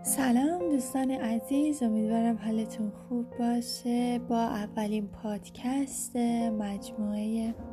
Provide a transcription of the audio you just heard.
سلام دوستان عزیز، امیدوارم حالتون خوب باشه. با اولین پادکست مجموعه